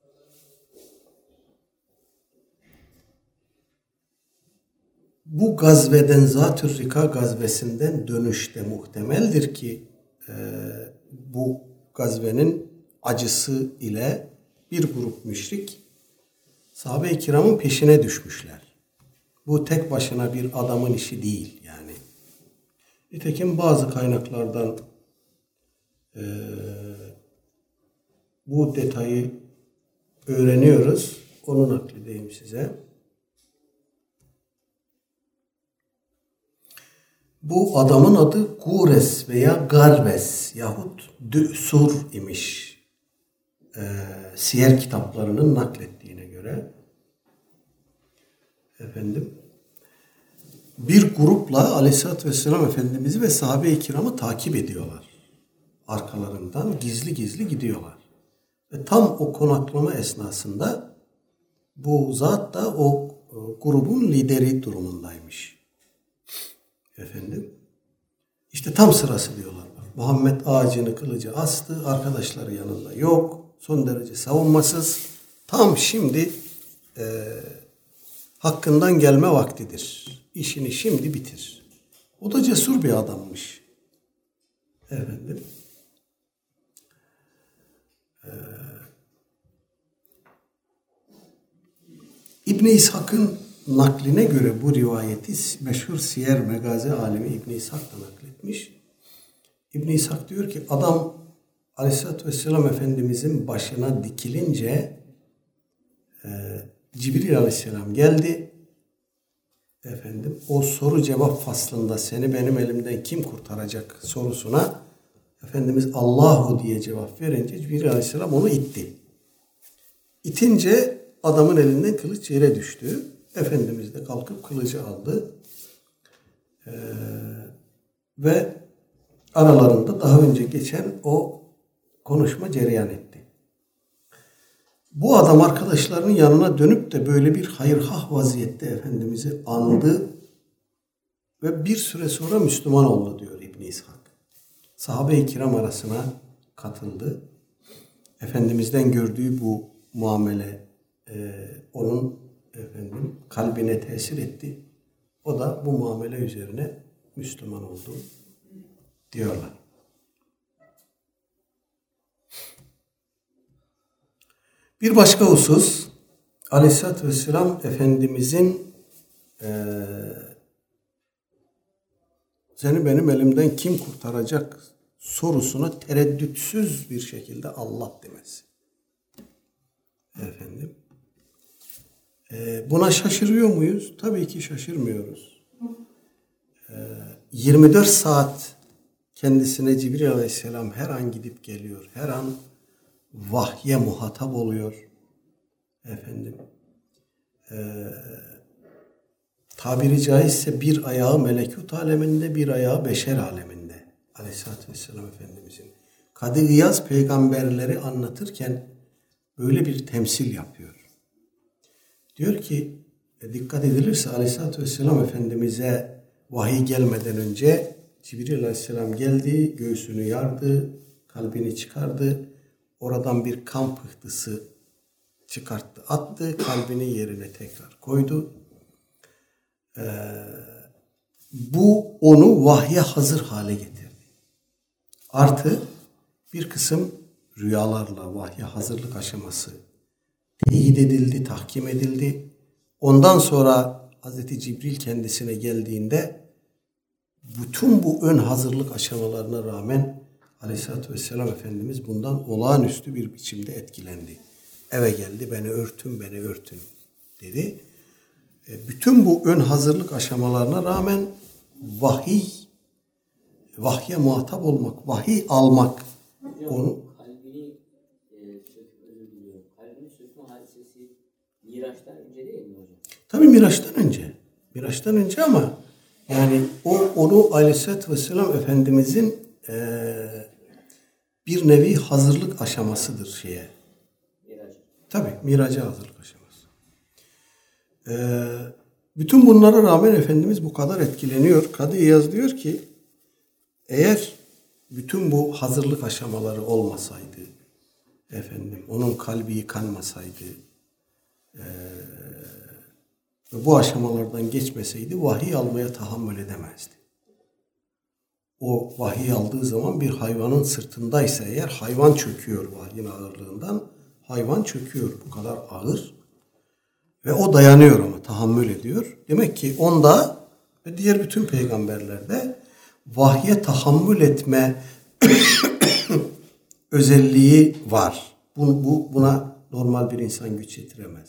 bu gazveden, Zat-ı Rika gazvesinden dönüşte muhtemeldir ki e, bu gazvenin acısı ile bir grup müşrik sahabe-i kiramın peşine düşmüşler. Bu tek başına bir adamın işi değil yani. Nitekim bazı kaynaklardan e, bu detayı öğreniyoruz. Onu nakledeyim size. Bu adamın adı Gures veya Garbes yahut Dü'sur imiş. Ee, siyer kitaplarının naklettiğine göre. Efendim. Bir grupla Aleyhisselatü Vesselam Efendimiz'i ve sahabe-i kiramı takip ediyorlar. Arkalarından gizli gizli gidiyorlar. Ve tam o konaklama esnasında bu zat da o grubun lideri durumundaymış. Efendim. İşte tam sırası diyorlar. Muhammed ağacını kılıcı astı. Arkadaşları yanında yok. Son derece savunmasız. Tam şimdi e, hakkından gelme vaktidir. İşini şimdi bitir. O da cesur bir adammış. Efendim. Ee, İbn-i İshak'ın nakline göre bu rivayeti meşhur siyer megazi alemi İbn-i İshak da nakletmiş. İbn-i İshak diyor ki adam Aleyhisselatü Vesselam Efendimizin başına dikilince e, Cibril Aleyhisselam geldi. Efendim o soru cevap faslında seni benim elimden kim kurtaracak sorusuna Efendimiz Allahu diye cevap verince Cibril Aleyhisselam onu itti. İtince adamın elinden kılıç yere düştü. Efendimiz de kalkıp kılıcı aldı. Ee, ve aralarında daha önce geçen o konuşma cereyan etti. Bu adam arkadaşlarının yanına dönüp de böyle bir hayırhah vaziyette Efendimiz'i andı ve bir süre sonra Müslüman oldu diyor İbn-i İshak. Sahabe-i kiram arasına katıldı. Efendimiz'den gördüğü bu muamele e, onun efendim kalbine tesir etti. O da bu muamele üzerine Müslüman oldu diyorlar. Bir başka husus, Aleyhisselatü Vesselam Efendimizin e, seni benim elimden kim kurtaracak sorusuna tereddütsüz bir şekilde Allah demesi. Efendim. E, buna şaşırıyor muyuz? Tabii ki şaşırmıyoruz. E, yirmi dört saat kendisine Cibril Aleyhisselam her an gidip geliyor. Her an vahye muhatap oluyor. Efendim. Ee, tabiri caizse bir ayağı melekut aleminde, bir ayağı beşer aleminde. Aleyhisselatü Vesselam Efendimizin. Kadı İyaz peygamberleri anlatırken böyle bir temsil yapıyor. Diyor ki, dikkat edilirse Aleyhisselatü Vesselam Efendimiz'e vahiy gelmeden önce Cibril Aleyhisselam geldi, göğsünü yardı, kalbini çıkardı. Oradan bir kan pıhtısı çıkarttı, attı, kalbini yerine tekrar koydu. Ee, bu onu vahye hazır hale getirdi. Artı bir kısım rüyalarla vahye hazırlık aşaması teyit edildi, tahkim edildi. Ondan sonra Hazreti Cibril kendisine geldiğinde bütün bu ön hazırlık aşamalarına rağmen Aleyhisselatü Vesselam Efendimiz bundan olağanüstü bir biçimde etkilendi. Eve geldi, beni örtün, beni örtün dedi. E, bütün bu ön hazırlık aşamalarına rağmen vahiy, vahye muhatap olmak, vahiy almak. Hocam, onu kalbini e, söküp özür diliyorum. Kalbini sökme hadisesi Miraç'tan önce değil mi hocam? Tabii Miraç'tan önce. Miraç'tan önce ama yani o onu Aleyhisselatü Vesselam Efendimizin e, bir nevi hazırlık aşamasıdır şeye. Miraç. Tabii miraca hazırlık aşaması. Ee, bütün bunlara rağmen Efendimiz bu kadar etkileniyor. Kadı İyaz diyor ki eğer bütün bu hazırlık aşamaları olmasaydı, efendim onun kalbi yıkanmasaydı, e, bu aşamalardan geçmeseydi vahiy almaya tahammül edemezdi. O vahiy aldığı zaman bir hayvanın sırtındaysa eğer hayvan çöküyor vahyin ağırlığından. Hayvan çöküyor. Bu kadar ağır. Ve o dayanıyor ama tahammül ediyor. Demek ki onda ve diğer bütün peygamberlerde vahye tahammül etme özelliği var. Bu, bu, buna normal bir insan güç yetiremez.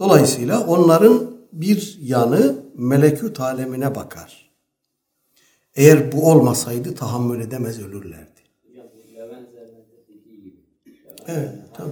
Dolayısıyla onların bir yanı melekut alemine bakar. Eğer bu olmasaydı tahammül edemez ölürlerdi. Hocam bu Levent Zermet'in dediği gibi. Evet, tamam.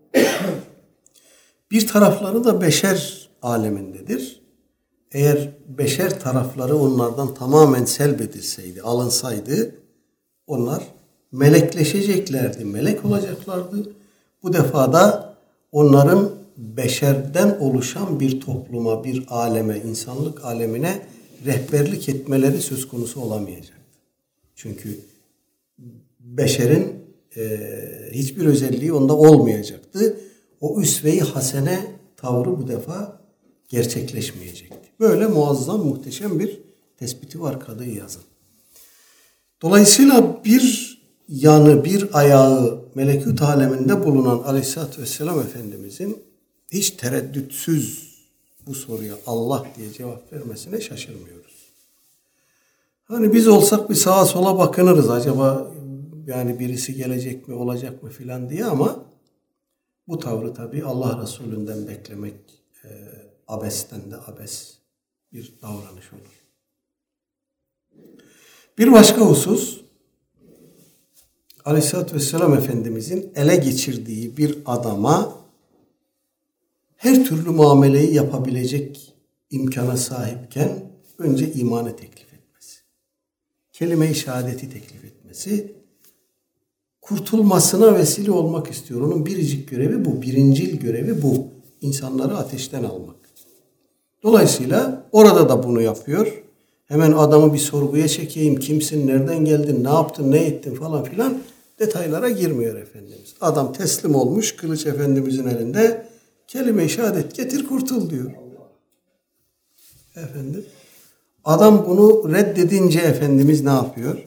Bir tarafları da beşer alemindedir. Eğer beşer tarafları onlardan tamamen selbedilseydi, alınsaydı onlar melekleşeceklerdi, melek olacaklardı. Bu defa da onların beşerden oluşan bir topluma, bir aleme, insanlık alemine rehberlik etmeleri söz konusu olamayacaktı. Çünkü beşerin e, hiçbir özelliği onda olmayacaktı. O üsve-i hasene tavrı bu defa gerçekleşmeyecekti. Böyle muazzam, muhteşem bir tespiti var Kadı İyaz'ın. Dolayısıyla bir yanı, bir ayağı melekut aleminde bulunan Aleyhisselatü Vesselam Efendimizin hiç tereddütsüz bu soruya Allah diye cevap vermesine şaşırmıyoruz. Hani biz olsak bir sağa sola bakınırız acaba yani birisi gelecek mi, olacak mı filan diye, ama bu tavrı tabii Allah Resulü'nden beklemek e, abesten de abes bir davranış olur. Bir başka husus, Aleyhisselatü Vesselam Efendimizin ele geçirdiği bir adama her türlü muameleyi yapabilecek imkana sahipken önce imanı teklif etmesi, kelime-i şehadeti teklif etmesi, kurtulmasına vesile olmak istiyor. Onun biricik görevi bu, birincil görevi bu. İnsanları ateşten almak. Dolayısıyla orada da bunu yapıyor. Hemen adamı bir sorguya çekeyim, kimsin, nereden geldin, ne yaptın, ne ettin falan filan detaylara girmiyor Efendimiz. Adam teslim olmuş, kılıç Efendimizin elinde, kelime-i şehadet getir kurtul diyor. Efendim, adam bunu reddedince Efendimiz ne yapıyor?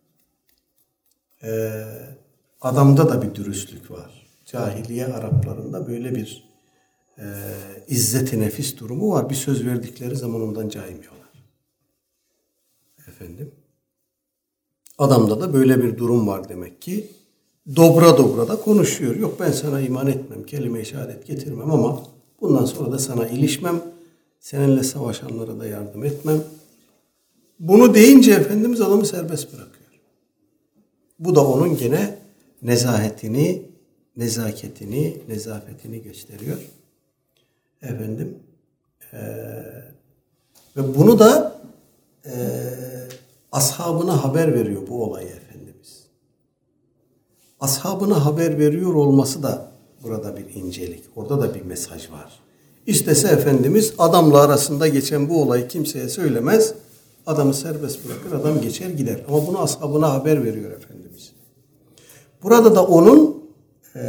Ee, adamda da bir dürüstlük var. Cahiliye Araplarında böyle bir e, izzet-i nefis durumu var. Bir söz verdikleri zaman ondan caymıyorlar. Efendim, adamda da böyle bir durum var demek ki. Dobra dobra da konuşuyor. Yok ben sana iman etmem, kelime-i şehadet getirmem ama bundan sonra da sana ilişmem, seninle savaşanlara da yardım etmem. Bunu deyince Efendimiz adamı serbest bırakıyor. Bu da onun gene nezahetini, nezaketini, nezafetini gösteriyor. Efendim, ee, ve bunu da ee, ashabına haber veriyor bu olayı Efendimiz. Ashabına haber veriyor olması da burada bir incelik. Orada da bir mesaj var. İstese Efendimiz adamla arasında geçen bu olayı kimseye söylemez. Adamı serbest bırakır, adam geçer gider. Ama bunu ashabına haber veriyor Efendimiz. Burada da onun e,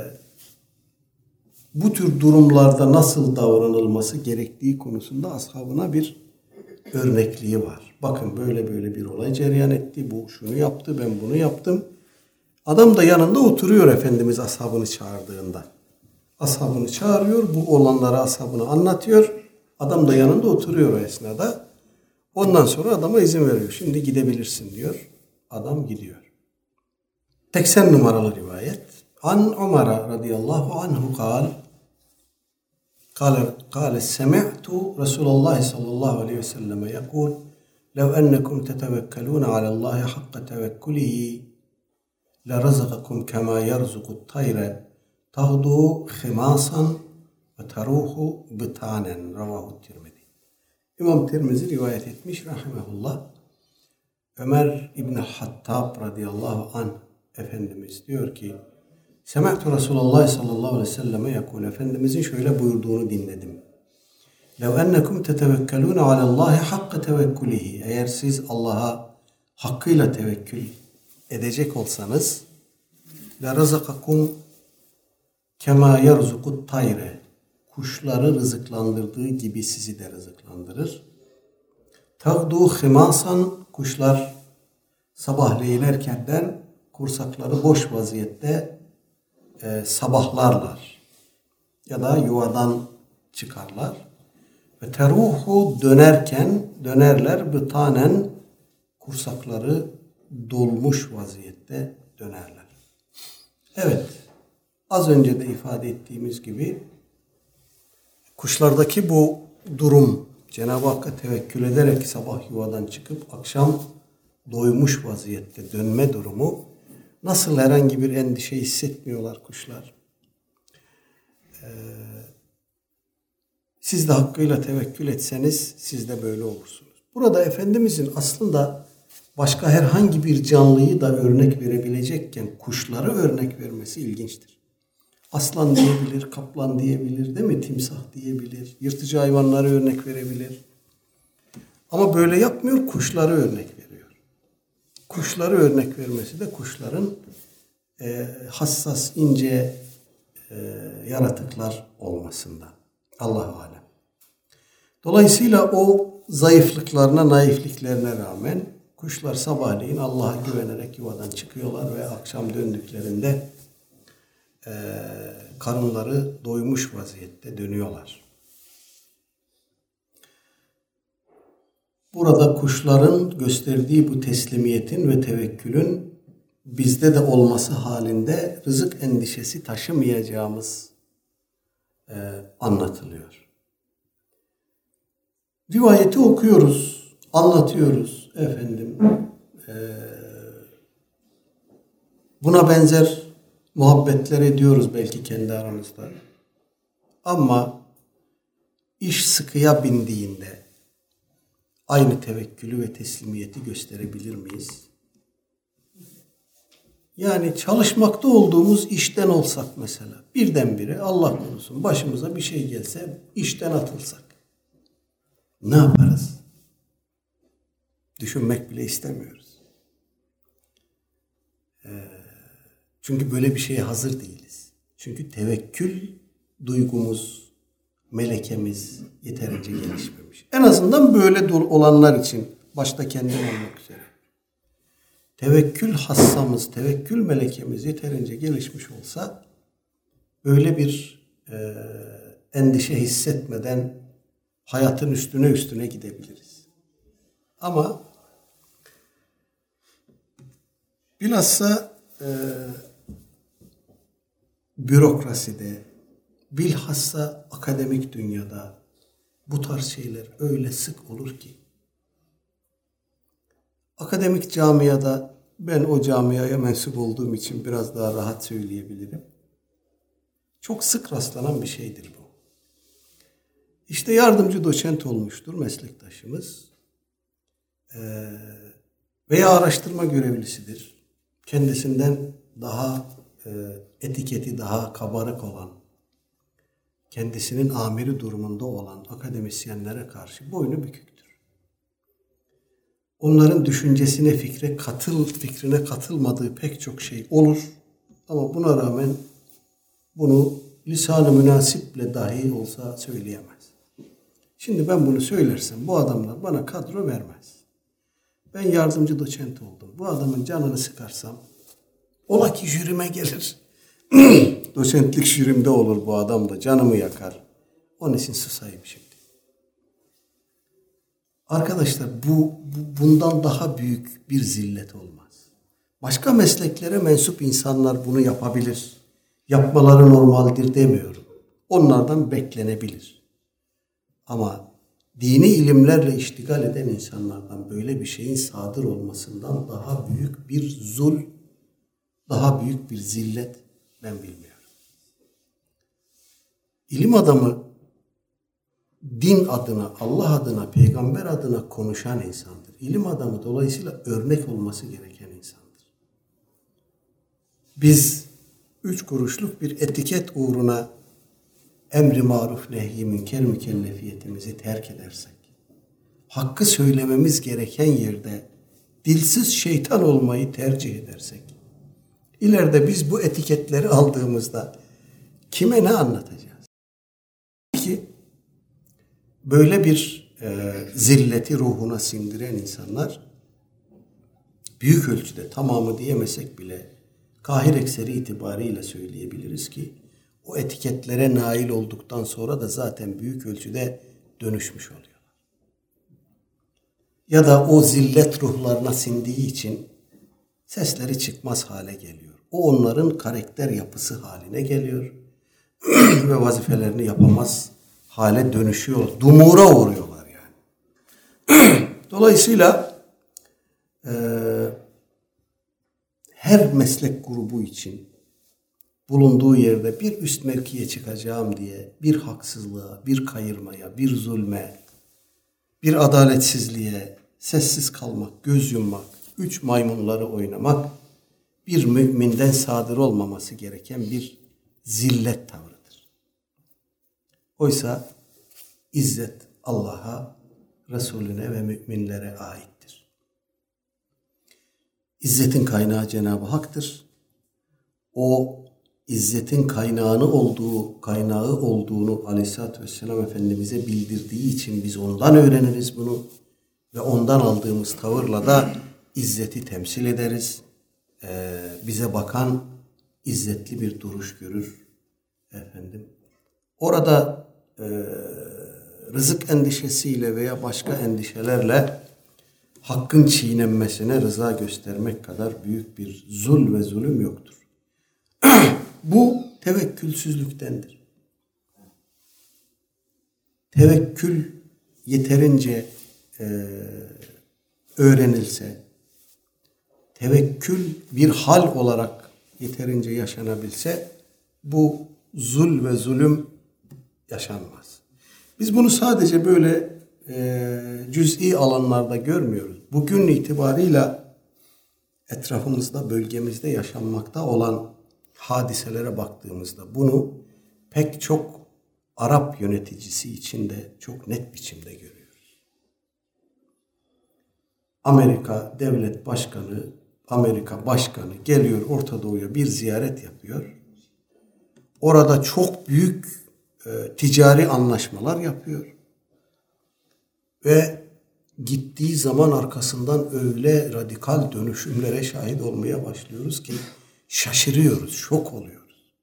bu tür durumlarda nasıl davranılması gerektiği konusunda ashabına bir örnekliği var. Bakın böyle böyle bir olay cereyan etti. Bu şunu yaptı, ben bunu yaptım. Adam da yanında oturuyor Efendimiz ashabını çağırdığında. Ashabını çağırıyor, bu olanları ashabına anlatıyor. Adam da yanında oturuyor o esnada. Ondan sonra adama izin veriyor. Şimdi gidebilirsin diyor. Adam gidiyor. seksen numaralı rivayet. An Ömer radıyallahu anhu kal. قال قال سمعت رسول الله صلى الله عليه وسلم يقول لو أنكم تتوكلون على الله حق توكله لرزقكم كما يرزق الطير تغدو خماصا وتروح بطانا رواه الترمذي. İmam Tirmizi rivayet etmiş rahimehullah. Ömer İbn Hattab radıyallahu anh Efendimiz diyor ki Sema'tu Resulullah sallallahu aleyhi ve selleme yakul. Efendimizin şöyle buyurduğunu dinledim. Lev ennekum tetevekkelûne alallâhi hakka tevekkulihi. Eğer siz Allah'a hakkıyla tevekkül edecek olsanız la razakakum kema yerzukut tayre. Kuşları rızıklandırdığı gibi sizi de rızıklandırır. Tagdu himasan. Kuşlar sabahleylerkenden kursakları boş vaziyette e, sabahlarlar ya da yuvadan çıkarlar. Ve teruhu dönerken dönerler bıtanen kursakları dolmuş vaziyette dönerler. Evet, az önce de ifade ettiğimiz gibi kuşlardaki bu durum Cenab-ı Hakk'a tevekkül ederek sabah yuvadan çıkıp akşam doymuş vaziyette dönme durumu, nasıl herhangi bir endişe hissetmiyorlar kuşlar. Ee, siz de hakkıyla tevekkül etseniz siz de böyle olursunuz. Burada Efendimizin aslında başka herhangi bir canlıyı da örnek verebilecekken kuşları örnek vermesi ilginçtir. Aslan diyebilir, kaplan diyebilir, değil mi? Timsah diyebilir, yırtıcı hayvanları örnek verebilir. Ama böyle yapmıyor, kuşları örnek veriyor. Kuşları örnek vermesi de kuşların e, hassas, ince e, yaratıklar olmasında. Allah-u alem. Dolayısıyla o zayıflıklarına, naifliklerine rağmen kuşlar sabahleyin Allah'a güvenerek yuvadan çıkıyorlar ve akşam döndüklerinde e, karınları doymuş vaziyette dönüyorlar. Burada kuşların gösterdiği bu teslimiyetin ve tevekkülün bizde de olması halinde rızık endişesi taşımayacağımız e, anlatılıyor. Rivayeti okuyoruz, anlatıyoruz efendim. E, buna benzer muhabbetler ediyoruz belki kendi aramızda. Ama iş sıkıya bindiğinde aynı tevekkülü ve teslimiyeti gösterebilir miyiz? Yani çalışmakta olduğumuz işten olsak mesela, birdenbire Allah korusun başımıza bir şey gelse, işten atılsak, ne yaparız? Düşünmek bile istemiyoruz. Ee, çünkü böyle bir şeye hazır değiliz. Çünkü tevekkül duygumuz, melekemiz yeterince gelişmemiş. En azından böyle olanlar için, başta kendim olmak üzere. Tevekkül hassamız, tevekkül melekemiz yeterince gelişmiş olsa böyle bir e, endişe hissetmeden hayatın üstüne üstüne gidebiliriz. Ama bilhassa e, bürokraside, bilhassa akademik dünyada bu tarz şeyler öyle sık olur ki. Akademik camiada, ben o camiaya mensup olduğum için biraz daha rahat söyleyebilirim. Çok sık rastlanan bir şeydir bu. İşte yardımcı doçent olmuştur meslektaşımız. Ee, veya araştırma görevlisidir. Kendisinden daha e, etiketi daha kabarık olan, kendisinin amiri durumunda olan akademisyenlere karşı boynu büküktür. Onların düşüncesine, fikre katıl, fikrine katılmadığı pek çok şey olur. Ama buna rağmen bunu lisan-ı münasiple dahi olsa söyleyemez. Şimdi ben bunu söylersem bu adamlar bana kadro vermez. Ben yardımcı doçent oldum. Bu adamın canını sıkarsam ola ki jürime gelir. Doçentlik jürimde olur bu adam da canımı yakar. Onun için susayım şimdi. Arkadaşlar bu, bu bundan daha büyük bir zillet olmaz. Başka mesleklere mensup insanlar bunu yapabilir. Yapmaları normaldir demiyorum. Onlardan beklenebilir. Ama dini ilimlerle iştigal eden insanlardan böyle bir şeyin sadır olmasından daha büyük bir zul, daha büyük bir zillet ben bilmiyorum. İlim adamı din adına, Allah adına, peygamber adına konuşan insandır. İlim adamı dolayısıyla örnek olması gereken insandır. Biz üç kuruşluk bir etiket uğruna emri maruf nehy-i münker mükellefiyetimizi terk edersek, hakkı söylememiz gereken yerde dilsiz şeytan olmayı tercih edersek, ileride biz bu etiketleri aldığımızda kime ne anlatacağız? Ki böyle bir e, zilleti ruhuna sindiren insanlar büyük ölçüde, tamamı diyemesek bile kahir ekseri itibariyle söyleyebiliriz ki o etiketlere nail olduktan sonra da zaten büyük ölçüde dönüşmüş oluyorlar. Ya da o zillet ruhlarına sindiği için sesleri çıkmaz hale geliyor. O onların karakter yapısı haline geliyor ve vazifelerini yapamaz hale dönüşüyor. Dumura uğruyorlar yani. Dolayısıyla e, her meslek grubu için bulunduğu yerde bir üst mevkiye çıkacağım diye bir haksızlığa, bir kayırmaya, bir zulme, bir adaletsizliğe sessiz kalmak, göz yummak, üç maymunları oynamak bir müminden sadır olmaması gereken bir zillet tavrıdır. Oysa izzet Allah'a, Resulüne ve müminlere aittir. İzzetin kaynağı Cenab-ı Hak'tır. O İzzetin kaynağını olduğu, kaynağı olduğunu Aleyhisselatü Vesselam Efendimiz'e bildirdiği için biz ondan öğreniriz bunu ve ondan aldığımız tavırla da izzeti temsil ederiz. Ee, bize bakan izzetli bir duruş görür efendim. Orada e, rızık endişesiyle veya başka endişelerle hakkın çiğnenmesine rıza göstermek kadar büyük bir zul ve zulüm yoktur. Bu tevekkülsüzlüktendir. Tevekkül yeterince e, öğrenilse, tevekkül bir hal olarak yeterince yaşanabilse, bu zul ve zulüm yaşanmaz. Biz bunu sadece böyle e, cüz'i alanlarda görmüyoruz. Bugün itibarıyla etrafımızda, bölgemizde yaşanmakta olan hadiselere baktığımızda bunu pek çok Arap yöneticisi içinde çok net biçimde görüyoruz. Amerika devlet başkanı, Amerika başkanı geliyor Orta Doğu'ya bir ziyaret yapıyor. Orada çok büyük e, ticari anlaşmalar yapıyor. Ve gittiği zaman arkasından öyle radikal dönüşümlere şahit olmaya başlıyoruz ki şaşırıyoruz, şok oluyoruz.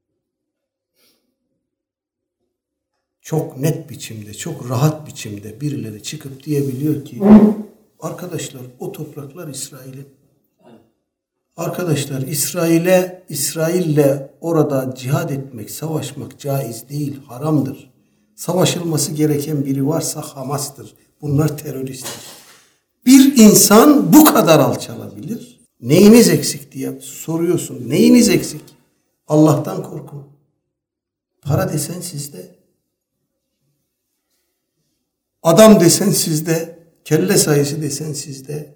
Çok net biçimde, çok rahat biçimde birileri çıkıp diyebiliyor ki arkadaşlar o topraklar İsrail'in. Arkadaşlar İsrail'e, İsrail'le orada cihad etmek, savaşmak caiz değil, haramdır. Savaşılması gereken biri varsa Hamas'tır. Bunlar teröristtir. Bir insan bu kadar alçalabilir. Neyiniz eksik diye soruyorsun. Neyiniz eksik? Allah'tan korkun. Para desen sizde. Adam desen sizde. Kelle sayısı desen sizde.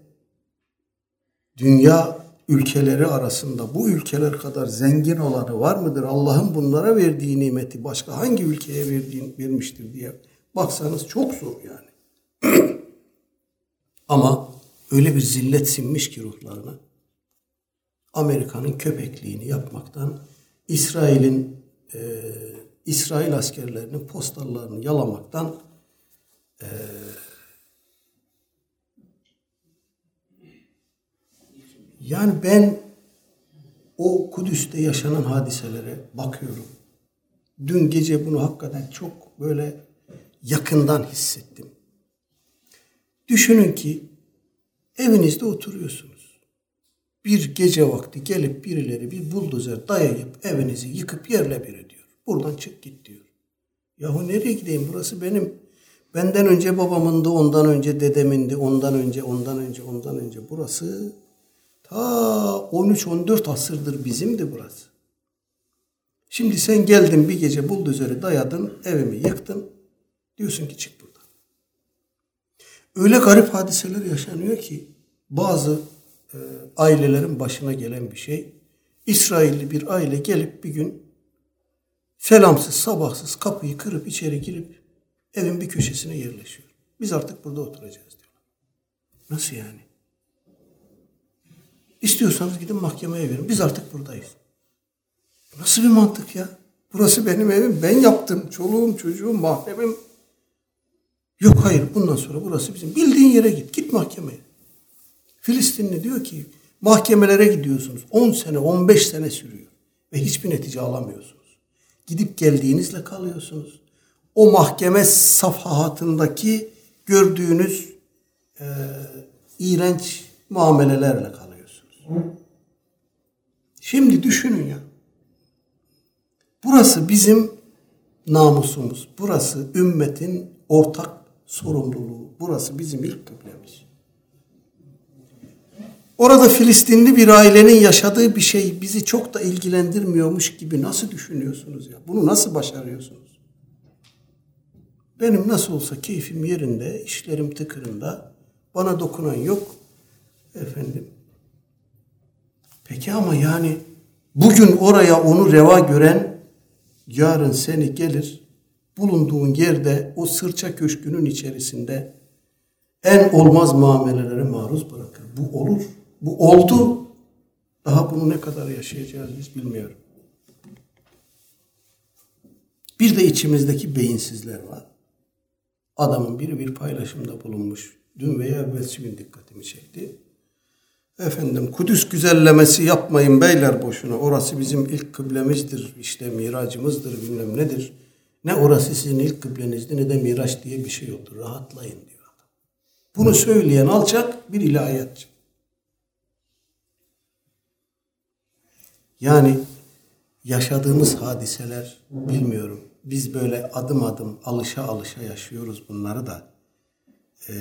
Dünya ülkeleri arasında bu ülkeler kadar zengin olanı var mıdır? Allah'ın bunlara verdiği nimeti başka hangi ülkeye verdiğini vermiştir diye baksanız çok zor yani. Ama öyle bir zillet sinmiş ki ruhlarına. Amerika'nın köpekliğini yapmaktan, İsrail'in e, İsrail askerlerinin postallarını yalamaktan e, yani ben o Kudüs'te yaşanan hadiselere bakıyorum. Dün gece bunu hakikaten çok böyle yakından hissettim. Düşünün ki evinizde oturuyorsunuz. Bir gece vakti gelip birileri bir buldozer dayayıp evinizi yıkıp yerle bir ediyor. Buradan çık git diyor. Yahu nereye gideyim? Burası benim. Benden önce babamındı, ondan önce dedemindi, ondan önce, ondan önce, ondan önce. Burası ta on üç on dört asırdır bizimdi burası. Şimdi sen geldin bir gece buldozeri dayadın, evimi yıktın. Diyorsun ki çık buradan. Öyle garip hadiseler yaşanıyor ki bazı e, ailelerin başına gelen bir şey. İsrailli bir aile gelip bir gün selamsız sabahsız kapıyı kırıp içeri girip evin bir köşesine yerleşiyor. Biz artık burada oturacağız diyorlar. Nasıl yani? İstiyorsanız gidin mahkemeye verin. Biz artık buradayız. Nasıl bir mantık ya? Burası benim evim. Ben yaptım. Çoluğum, çocuğum, mahremim. Yok hayır. Bundan sonra burası bizim. Bildiğin yere git. Git mahkemeye. Filistinli diyor ki mahkemelere gidiyorsunuz. on sene, on beş sene sürüyor. Ve hiçbir netice alamıyorsunuz. Gidip geldiğinizle kalıyorsunuz. O mahkeme safhatındaki gördüğünüz e, iğrenç muamelelerle kalıyorsunuz. Şimdi düşünün ya. Burası bizim namusumuz. Burası ümmetin ortak sorumluluğu. Burası bizim ilk kıblemiz. Orada Filistinli bir ailenin yaşadığı bir şey bizi çok da ilgilendirmiyormuş gibi nasıl düşünüyorsunuz ya? Bunu nasıl başarıyorsunuz? Benim nasıl olsa keyfim yerinde, işlerim tıkırında, bana dokunan yok. Efendim. Peki ama yani bugün oraya onu reva gören yarın seni gelir bulunduğun yerde o sırça köşkünün içerisinde en olmaz muamelelere maruz bırakır. Bu olur. Bu oldu. Daha bunu ne kadar yaşayacağız biz bilmiyorum. Bir de içimizdeki beyinsizler var. Adamın biri bir paylaşımda bulunmuş. Dün veya evvelsi gün dikkatimi çekti. Efendim Kudüs güzellemesi yapmayın beyler boşuna. Orası bizim ilk kıblemizdir. İşte miracımızdır bilmem nedir. Ne orası sizin ilk kıblenizdi ne de miraç diye bir şey yoktur. Rahatlayın diyor adam. Bunu söyleyen alçak bir ilahiyatçı. Yani yaşadığımız hadiseler bilmiyorum. Biz böyle adım adım alışa alışa yaşıyoruz bunları da. Ee,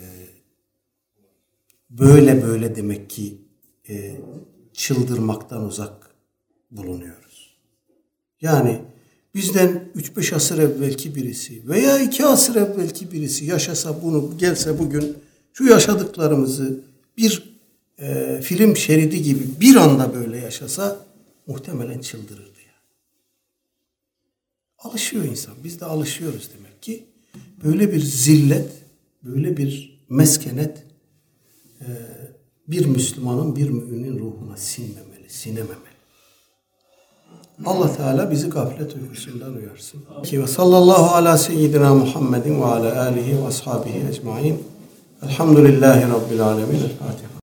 böyle böyle demek ki e, çıldırmaktan uzak bulunuyoruz. Yani bizden üç beş asır evvelki birisi veya iki asır evvelki birisi yaşasa bunu, gelse bugün şu yaşadıklarımızı bir e, film şeridi gibi bir anda böyle yaşasa muhtemelen çıldırırdı ya. Alışıyor insan. Biz de alışıyoruz demek ki. Böyle bir zillet, böyle bir meskenet e, bir Müslümanın, bir müminin ruhuna sinmemeli, sinememeli. Allah Teala bizi gaflet uykusundan uyarsın. Ve sallallahu ala seyyidina Muhammedin ve ala alihi ve ashabihi ecmain. Elhamdülillahi Rabbil alemin. El Fatiha.